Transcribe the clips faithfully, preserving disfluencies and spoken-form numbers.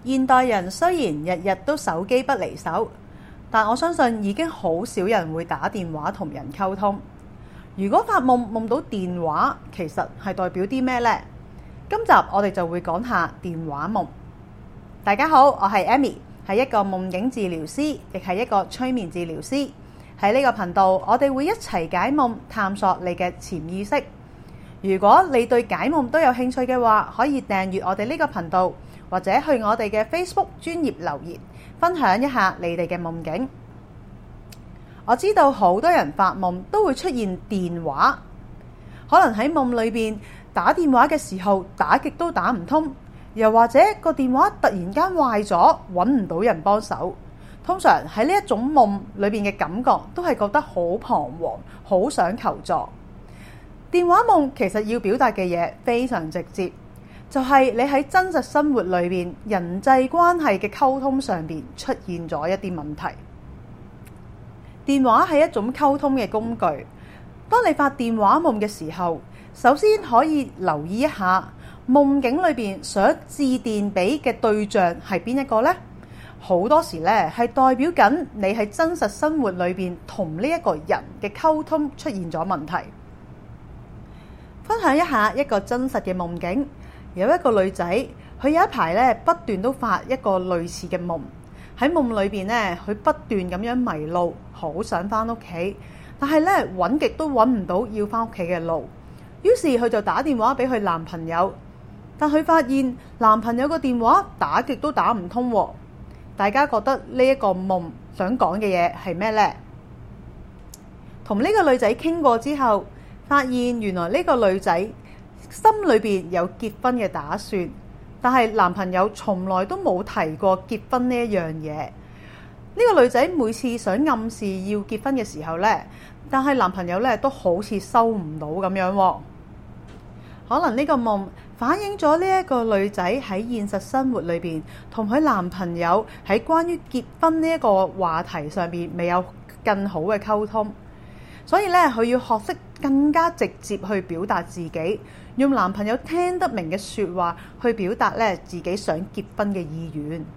現代人雖然日日都手機不離手，但我相信已經好少人會打電話同人溝通。如果發夢夢到電話，其實係代表啲咩呢？今集我哋就會講下電話夢。大家好，我係 Amy， 係一個夢境治療師，亦係一個催眠治療師。喺呢個頻道，我哋會一齊解夢，探索你嘅潛意識。如果你對解夢都有興趣嘅話，可以訂閱我哋呢個頻道，或者去我哋嘅 Facebook 專頁留言，分享一下你哋嘅夢境。我知道好多人發夢都會出現電話，可能喺夢裏邊打電話嘅時候打極都打唔通，又或者個電話突然間壞咗，揾唔到人幫手。通常喺呢一種夢裏邊嘅感覺都係覺得好彷徨，好想求助。電話夢其實要表達嘅嘢非常直接，就係你喺真實生活裏邊人際關係嘅溝通上邊出現咗一啲問題。電話係一種溝通嘅工具。當你發電話夢嘅時候，首先可以留意一下夢境裏邊想致電俾嘅對象係邊一個呢？好多時咧係代表緊你喺真實生活裏邊同呢一個人嘅溝通出現咗問題。分享一下一個真實嘅夢境，有一個女仔，佢有一排咧不斷都發一個類似嘅夢。喺夢裏邊咧，佢不斷咁樣迷路，好想翻屋企，但係咧揾極都揾唔到要翻屋企嘅路。於是佢就打電話俾佢男朋友，但佢發現男朋友個電話打極都打唔通。大家覺得呢一個夢想講嘅嘢係咩呢？同呢個女仔傾過之後，發現原來呢個女仔心裏邊有結婚嘅打算，但係男朋友從來都冇提過結婚呢一樣嘢。呢個女仔每次想暗示要結婚嘅時候呢，但係男朋友呢都好似收唔到咁樣。可能呢個夢反映咗呢一個女仔喺現實生活裏邊同佢男朋友喺關於結婚呢一個話題上邊未有更好嘅溝通。所以咧，佢要學識更加直接去表達自己，用男朋友聽得明嘅說話去表達咧自己想結婚嘅意願。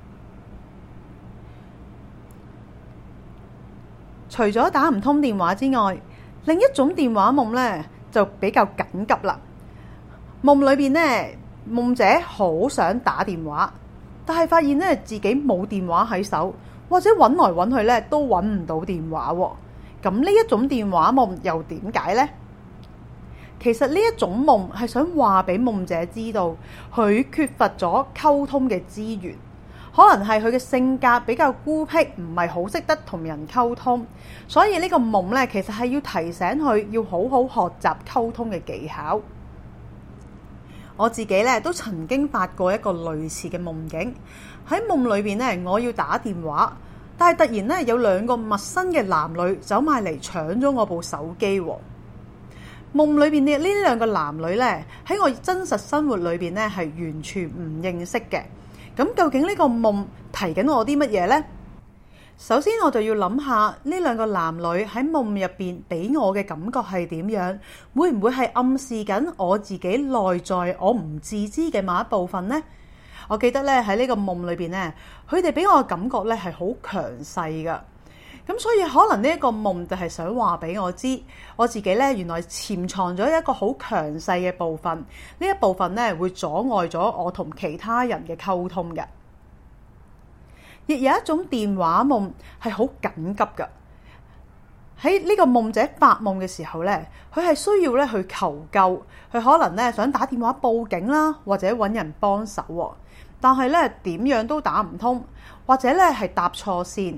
除咗打唔通電話之外，另一種電話夢咧就比較緊急啦。夢裏邊咧，夢者好想打電話，但係發現咧自己冇電話喺手，或者揾來揾去咧都揾唔到電話喎。咁呢一種電話夢又點解呢？其實呢一種夢係想話俾夢者知道，佢缺乏咗溝通嘅資源，可能係佢嘅性格比較孤僻，唔係好識得同人溝通，所以呢個夢呢，其實係要提醒佢要好好學習溝通嘅技巧。我自己呢，都曾經發過一個類似嘅夢境，喺夢裏邊呢，我要打電話。但係突然咧，有兩個陌生嘅男女走埋嚟搶咗我部手機。夢裏邊嘅呢兩個男女咧，喺我真實生活裏邊咧係完全唔認識嘅。咁究竟呢個夢提緊我啲乜嘢呢？首先我就要諗下呢兩個男女喺夢入邊俾我嘅感覺係點樣？會唔會係暗示緊我自己內在我唔自知嘅某一部分呢？我記得咧喺呢個夢裏邊咧，佢哋俾我嘅感覺咧係好強勢噶，咁所以可能呢一個夢就係想話俾我知，我自己咧原來潛藏咗一個好強勢嘅部分，呢一部分咧會阻礙咗我同其他人嘅溝通嘅。亦有一種電話夢係好緊急噶，喺呢個夢者發夢嘅時候咧，佢係需要咧去求救，佢可能咧想打電話報警啦，或者揾人幫手喎。但係咧點樣都打唔通，或者咧係搭錯線。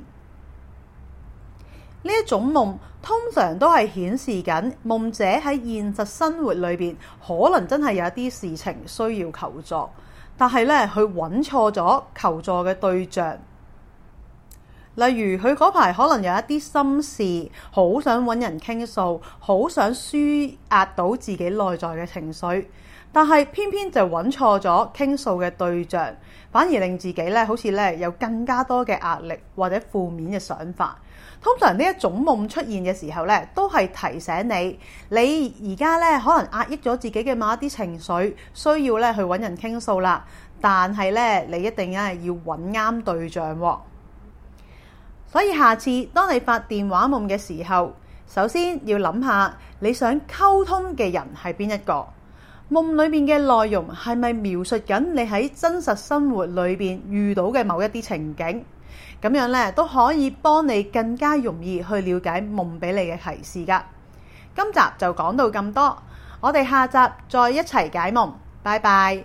呢一種夢通常都係顯示緊夢者喺現實生活裏邊可能真係有一啲事情需要求助，但係咧佢揾錯咗求助嘅對象。例如佢嗰排可能有一啲心事，好想揾人傾訴，好想舒壓到自己內在嘅情緒。但係偏偏就揾錯咗傾訴嘅對象，反而令自己咧好似咧有更加多嘅壓力或者負面嘅想法。通常呢一種夢出現嘅時候咧，都係提醒你，你而家咧可能壓抑咗自己嘅某一啲情緒，需要咧去揾人傾訴啦。 但係咧你一定係要揾啱對象喎。所以下次當你發電話夢嘅時候，首先要諗下你想溝通嘅人係邊一個，夢裏面嘅內容係咪描述緊你喺真實生活裏邊遇到嘅某一啲情景，咁樣咧都可以幫你更加容易去了解夢俾你嘅提示㗎。今集就講到咁多，我哋下集再一齊解夢，拜拜。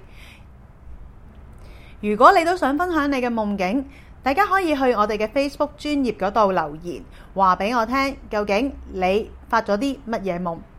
如果你都想分享你嘅夢境，大家可以去我哋嘅 Facebook 專頁嗰度留言，話俾我聽究竟你發咗啲乜嘢夢。